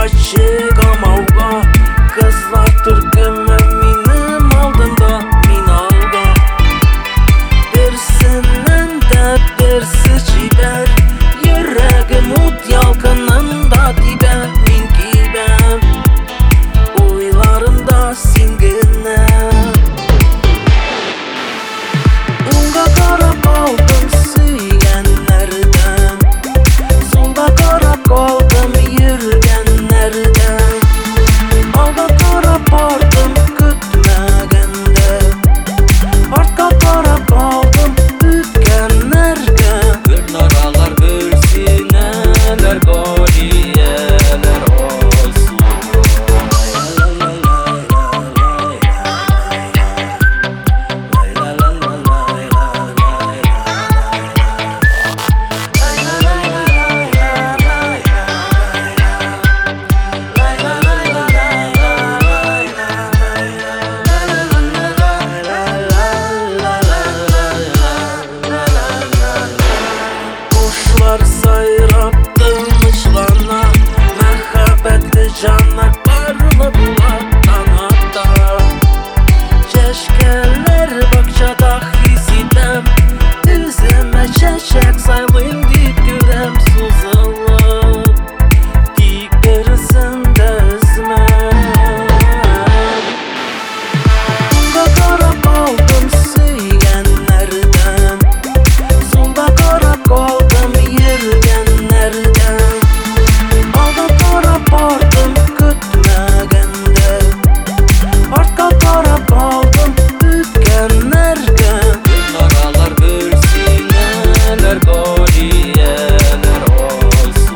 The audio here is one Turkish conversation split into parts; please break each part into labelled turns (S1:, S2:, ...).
S1: açık amavga. Kızlar türkümü benim aldımda, min alga. Birisinden de birisi çiber, yüreğim ut yalkınında dibe, min gibem uylarımda singine. Unga karab aldım söyleyenlerden, solda karab kaldım yürüyenlerden. Alga karab vardım kütmegende, artka karab kaldım ütkenlerge. Bir naralar bölsineler, galiyeler olsun. Kuşlar sayraptırmış bana, mehabbetli canlar parlı bulaktan hatta. Çeşkeler bakçada hisidem, üzüme çeçek saylayım dikürem suzulup, dik birisinde üzmem. Unga karab aldım söyleyenlerden, solda karab kaldım yürüyenlerden. Alga karab vardım kütmegende, artka karab kaldım ütkenlerge. Naralar bölsineler, galiyeler olsun.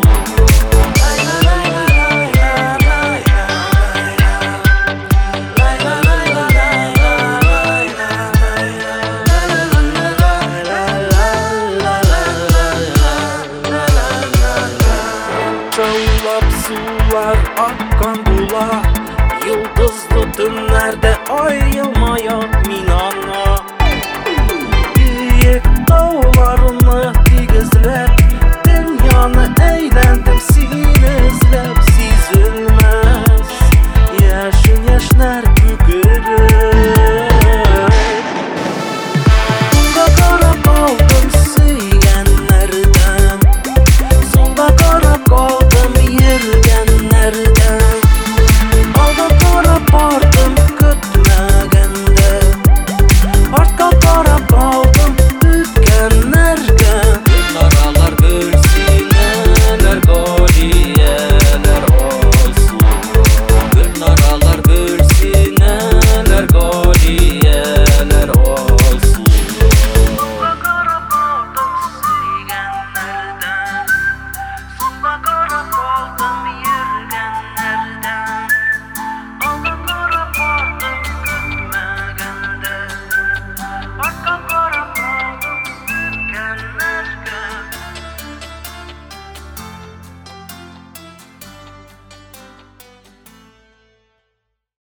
S1: Çağlap sular akkan bula, yıldızlı tünlerde ayrılmaya min